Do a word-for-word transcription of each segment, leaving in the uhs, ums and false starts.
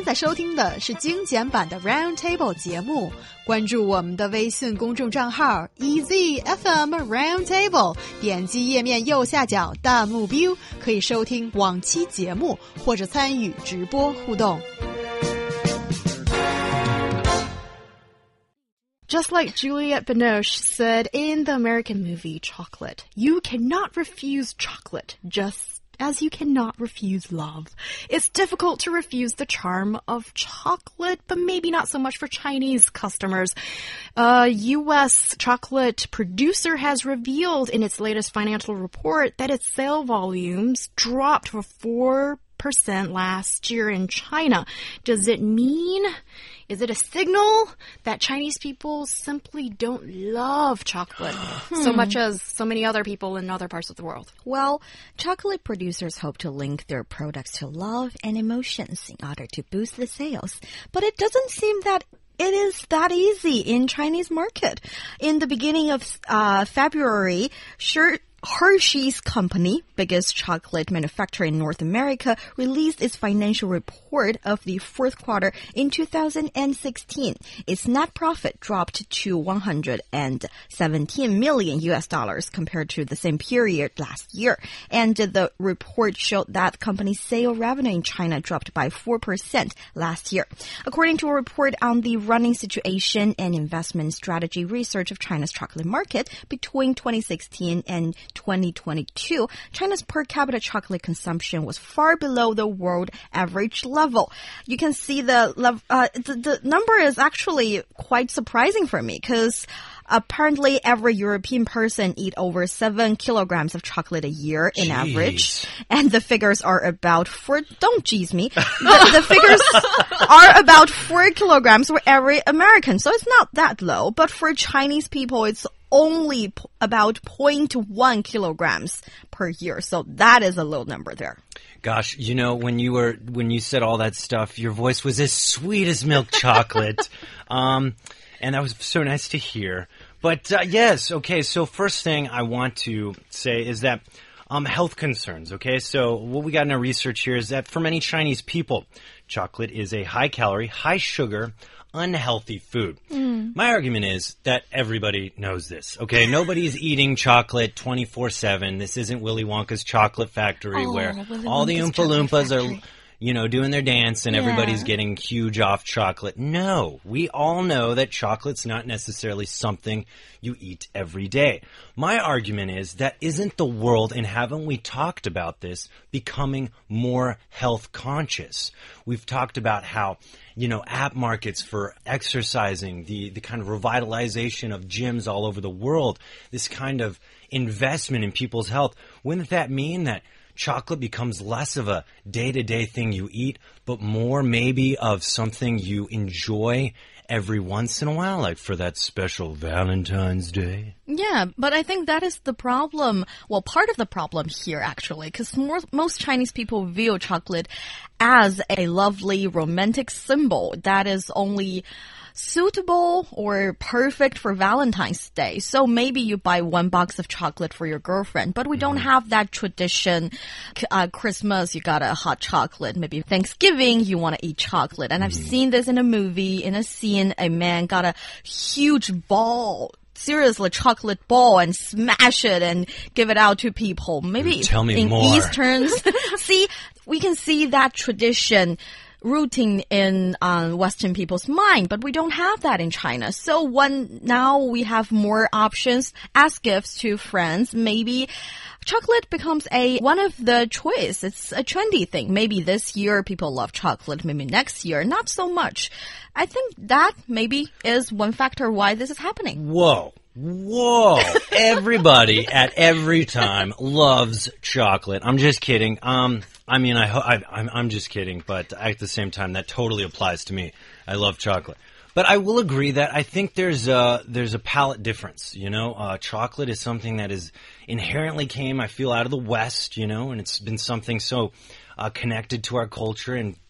在收听的是精简版的 Roundtable 节目，关注我们的微信公众账号 E Z F M Roundtable， 点击页面右下角弹幕 view 可以收听往期节目或者参与直播互动。Just like Juliette Binoche said in the American movie Chocolate, you cannot refuse chocolate, just as you cannot refuse love. It's difficult to refuse the charm of chocolate, but maybe not so much for Chinese customers. A U S chocolate producer has revealed in its latest financial report that its sale volumes dropped for four percent last year in China. Does it mean... Is it a signal that Chinese people simply don't love chocolate hmm. so much as so many other people in other parts of the world? Well, chocolate producers hope to link their products to love and emotions in order to boost the sales. But it doesn't seem that it is that easy in Chinese market. In the beginning of uh, February, sure, Hershey's company, biggest chocolate manufacturer in North America, released its financial report of the fourth quarter in two thousand sixteen. Its net profit dropped to one hundred seventeen million U S dollars compared to the same period last year. And the report showed that company's sale revenue in China dropped by four percent last year. According to a report on the running situation and investment strategy research of China's chocolate market between twenty sixteen and twenty twenty-two, China's per capita chocolate consumption was far below the world average level. You can see the, uh, the, the number is actually quite surprising for me because apparently every European person eat over seven kilograms of chocolate a year in Jeez. average. And the figures are about four, don't jeez me. The, the figures are about four kilograms for every American. So it's not that low. But for Chinese people, it's only p- about zero point one kilograms per year. So that is a low number there. Gosh, you know, when you were when you said all that stuff, your voice was as sweet as milk chocolate. um, and that was so nice to hear. But uh, yes, okay, so first thing I want to say is that um, health concerns, okay? So what we got in our research here is that for many Chinese people, chocolate is a high-calorie, high-sugar, unhealthy food. Mm. My argument is that everybody knows this, okay? Nobody's eating chocolate twenty-four seven. This isn't Willy Wonka's chocolate factory oh, where Willy all Wonka's the Oompa Loompas are, you know, doing their dance and yeah. everybody's getting huge off chocolate. No, we all know that chocolate's not necessarily something you eat every day. My argument is that isn't the world, and haven't we talked about this, becoming more health conscious? We've talked about how, you know, app markets for exercising, the, the kind of revitalization of gyms all over the world, this kind of investment in people's health. Wouldn't that mean that chocolate becomes less of a day-to-day thing you eat, but more maybe of something you enjoy every once in a while, like for that special Valentine's Day? Yeah, but I think that is the problem. Well, part of the problem here, actually, because most Chinese people view chocolate as a lovely romantic symbol that is only suitable or perfect for Valentine's Day. So maybe you buy one box of chocolate for your girlfriend, but we mm-hmm. don't have that tradition. Uh, Christmas, you got a hot chocolate. Maybe Thanksgiving, you want to eat chocolate. And mm-hmm. I've seen this in a movie, in a scene, a man got a huge ball, seriously, chocolate ball and smash it and give it out to people. Maybe Tell me in more. Easterns. See, we can see that tradition rooting in uh, Western people's mind, but we don't have that in China. So when now we have more options as gifts to friends, maybe chocolate becomes a one of the choice. It's a trendy thing. Maybe this year people love chocolate, maybe next year not so much. I think that maybe is one factor why this is happening. Whoa. Whoa. Everybody at every time loves chocolate. I'm just kidding. Um, I mean, I, I, I'm, I'm just kidding, but at the same time, that totally applies to me. I love chocolate. But I will agree that I think there's a, there's a palate difference, you know. Uh, chocolate is something that is inherently came, I feel, out of the West, you know, and it's been something so uh, connected to our culture and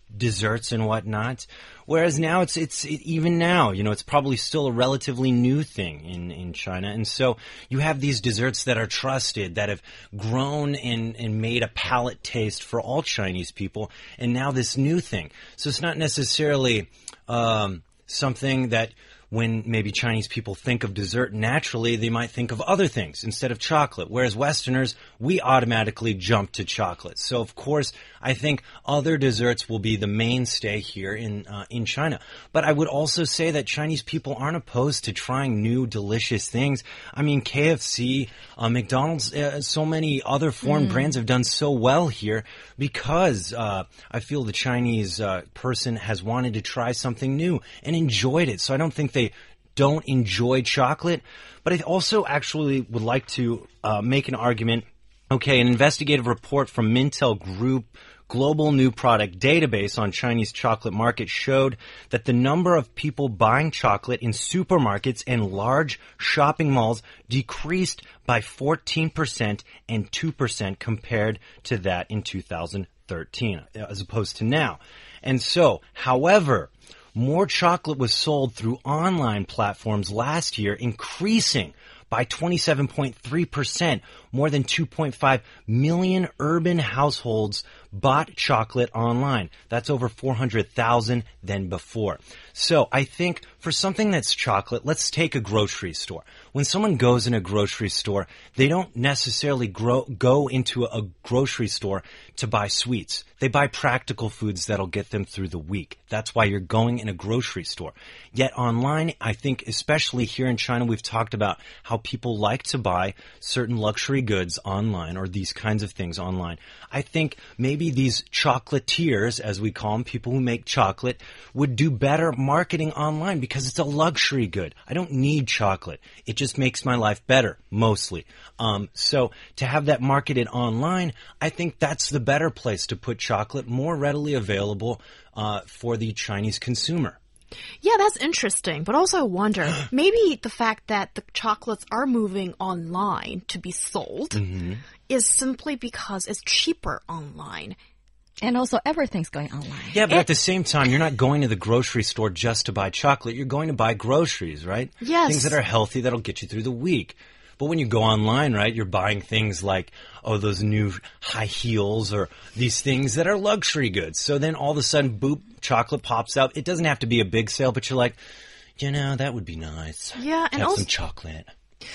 desserts and whatnot. Whereas now it's, it's, it, even now, you know, it's probably still a relatively new thing in, in China. And so you have these desserts that are trusted, that have grown and, and made a palate taste for all Chinese people. And now this new thing. So it's not necessarily, um, something that when maybe Chinese people think of dessert naturally, they might think of other things instead of chocolate. Whereas Westerners, we automatically jump to chocolate. So of course, I think other desserts will be the mainstay here in uh, in China. But I would also say that Chinese people aren't opposed to trying new, delicious things. I mean, K F C, uh, McDonald's, uh, so many other foreign mm. brands have done so well here because uh, I feel the Chinese uh, person has wanted to try something new and enjoyed it. So I don't think they don't enjoy chocolate. But I also actually would like to uh, make an argument. Okay, an investigative report from Mintel Group Global New Product Database on Chinese chocolate market showed that the number of people buying chocolate in supermarkets and large shopping malls decreased by fourteen percent and two percent compared to that in two thousand thirteen, as opposed to now. And so, however, more chocolate was sold through online platforms last year, increasing by twenty-seven point three percent. More than two point five million urban households bought chocolate online. That's over four hundred thousand than before. So I think for something that's chocolate, let's take a grocery store. When someone goes in a grocery store, they don't necessarily grow, go into a grocery store to buy sweets. They buy practical foods that'll get them through the week. That's why you're going in a grocery store. Yet online, I think, especially here in China, we've talked about how people like to buy certain luxury goods online, or these kinds of things online. I think maybe these chocolatiers, as we call them, people who make chocolate, would do better marketing online because it's a luxury good. I don't need chocolate. It just makes my life better, mostly. Um, so to have that marketed online, I think that's the better place to put chocolate, more readily available uh, for the Chinese consumer. Yeah, that's interesting. But also I wonder, maybe the fact that the chocolates are moving online to be sold mm-hmm. is simply because it's cheaper online. And also everything's going online. Yeah, but it, at the same time, you're not going to the grocery store just to buy chocolate. You're going to buy groceries, right? Yes. Things that are healthy that'll get you through the week. But when you go online, right, you're buying things like, oh, those new high heels or these things that are luxury goods. So then all of a sudden, boop, chocolate pops out. It doesn't have to be a big sale, but you're like, you know, that would be nice. Yeah, and have also some chocolate.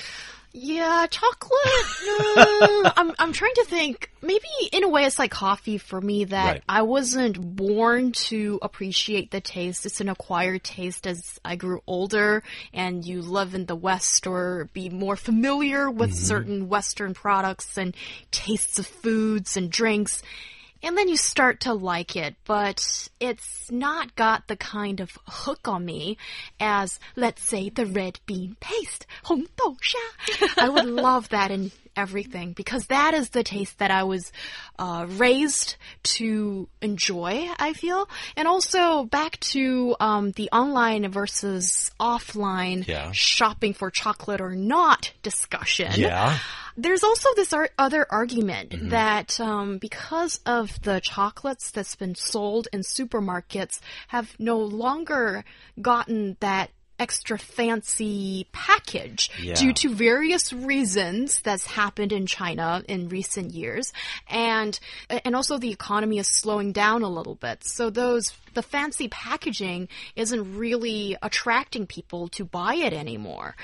Yeah, chocolate. No. I'm I'm trying to think. Maybe in a way it's like coffee for me, that right. I wasn't born to appreciate the taste. It's an acquired taste as I grew older and you live in the West or be more familiar with mm-hmm. certain Western products and tastes of foods and drinks. And then you start to like it, but it's not got the kind of hook on me as, let's say, the red bean paste, 红豆沙. I would love that in everything because that is the taste that I was uh, raised to enjoy, I feel. And also back to um, the online versus offline yeah. shopping for chocolate or not discussion. Yeah. There's also this ar other argument mm-hmm. that um, because of the chocolates that's been sold in supermarkets have no longer gotten that extra fancy package yeah. due to various reasons that's happened in China in recent years, and and also the economy is slowing down a little bit. So those the fancy packaging isn't really attracting people to buy it anymore,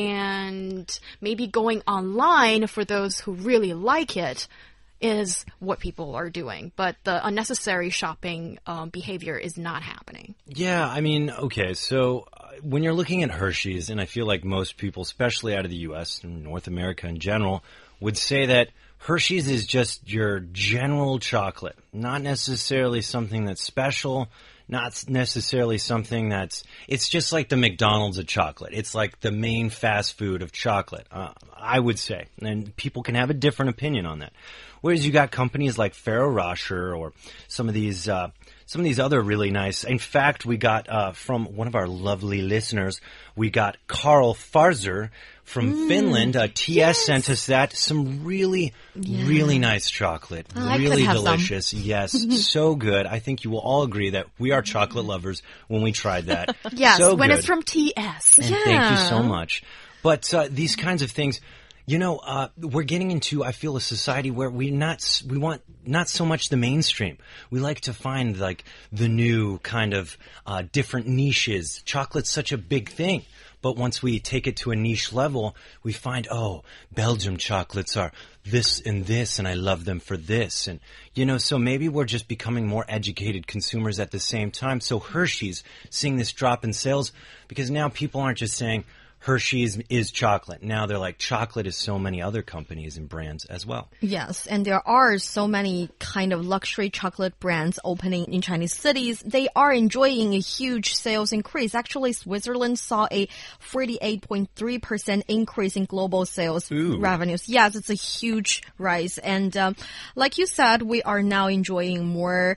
and maybe going online for those who really like it is what people are doing, but the unnecessary shopping um, behavior is not happening. Yeah, I mean, okay, so when you're looking at Hershey's, and I feel like most people, especially out of the U S and North America in general, would say that Hershey's is just your general chocolate, not necessarily something that's special, not necessarily something that's, it's just like the McDonald's of chocolate. It's like the main fast food of chocolate, uh, I would say. And people can have a different opinion on that. Whereas you got companies like Ferrero Rocher or some of these, uh, some of these other really nice. In fact, we got, uh, from one of our lovely listeners, we got Carl Farzer from mm, Finland. Uh, T S yes. sent us that. Some really, yeah. really nice chocolate. Oh, really delicious. Some. Yes. So good. I think you will all agree that we are chocolate lovers when we tried that. Yes. So when good. It's from T S. And yeah. thank you so much. But, uh, these kinds of things, you know, uh, we're getting into, I feel, a society where we not, we want not so much the mainstream. We like to find, like, the new kind of, uh, different niches. Chocolate's such a big thing. But once we take it to a niche level, we find, oh, Belgium chocolates are this and this, and I love them for this. And, you know, so maybe we're just becoming more educated consumers at the same time. So Hershey's seeing this drop in sales because now people aren't just saying, Hershey's is chocolate. Now they're like, chocolate is so many other companies and brands as well. Yes, and there are so many kind of luxury chocolate brands opening in Chinese cities. They are enjoying a huge sales increase. Actually, Switzerland saw a forty-eight point three percent increase in global sales Ooh. revenues. Yes, it's a huge rise. And um, like you said, we are now enjoying more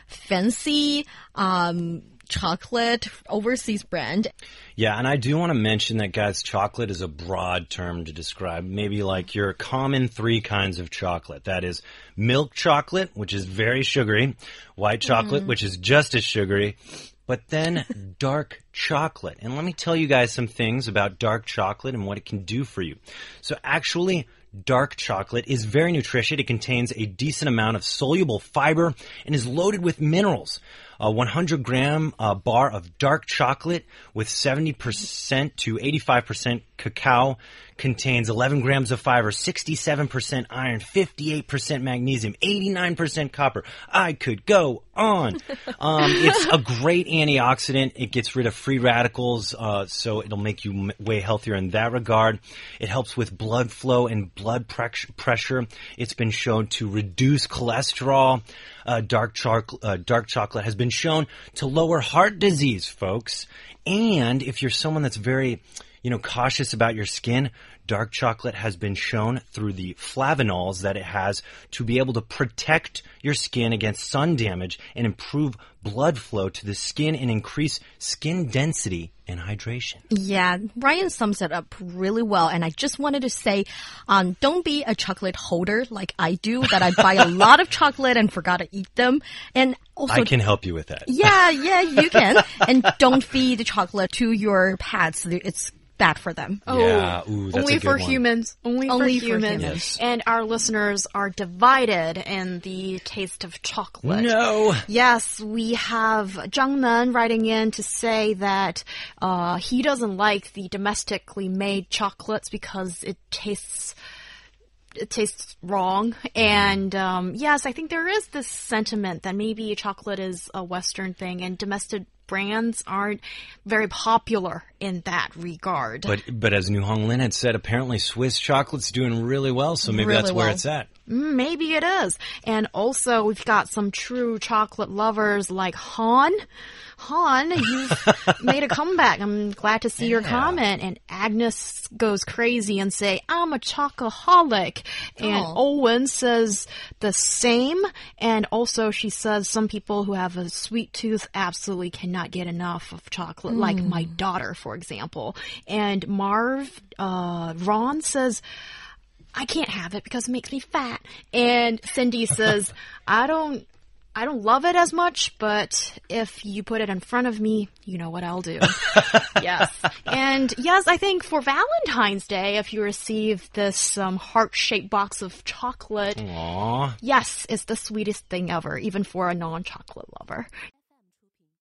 fancy um chocolate overseas brand. Yeah, and I do want to mention that, guys, chocolate is a broad term to describe maybe like your common three kinds of chocolate. That is milk chocolate, which is very sugary, white chocolate, mm. which is just as sugary, but then dark chocolate. And let me tell you guys some things about dark chocolate and what it can do for you. So actually, dark chocolate is very nutritious. It contains a decent amount of soluble fiber and is loaded with minerals. A one hundred gram uh, bar of dark chocolate with seventy percent to eighty-five percent cacao contains eleven grams of fiber, sixty-seven percent iron, fifty-eight percent magnesium, eighty-nine percent copper. I could go on. Um, it's a great antioxidant. It gets rid of free radicals, uh, so it'll make you m- way healthier in that regard. It helps with blood flow and blood pre- pressure. It's been shown to reduce cholesterol. Uh, dark, choc- uh, dark chocolate has been shown to lower heart disease, folks. And if you're someone that's very, you know, cautious about your skin, dark chocolate has been shown through the flavanols that it has to be able to protect your skin against sun damage and improve blood flow to the skin and increase skin density and hydration. Yeah, Ryan sums it up really well. And I just wanted to say, um, don't be a chocolate holder like I do, that I buy a lot of chocolate and forgot to eat them. And also, I can help you with that. Yeah, yeah, you can. And don't feed the chocolate to your pets. It's bad for them. Oh, yeah, ooh, that's only a good for one. humans. Only, only for humans. For Yes. humans. And our listeners are divided in the taste of chocolate. No. Yes, we have Zhang Nan writing in to say that uh, he doesn't like the domestically made chocolates because it tastes it tastes wrong. And um, yes, I think there is this sentiment that maybe chocolate is a Western thing and domestic brands aren't very popular in that regard. But but as New Hong Lin had said, apparently Swiss chocolate's doing really well, so maybe Really that's where well. it's at. Mm, maybe it is. And also, we've got some true chocolate lovers like Han. Han, you've made a comeback. I'm glad to see your Yeah. comment. And Agnes goes crazy and say, I'm a chocoholic. And Oh. Owen says the same. And also she says some people who have a sweet tooth absolutely cannot get enough of chocolate, like my daughter, for example. And Marv, uh, Ron says, I can't have it because it makes me fat. And Cindy says, I don't, I don't love it as much, but if you put it in front of me, you know what I'll do. Yes. And yes, I think for Valentine's Day, if you receive this um, heart-shaped box of chocolate, Aww. yes, it's the sweetest thing ever, even for a non-chocolate lover.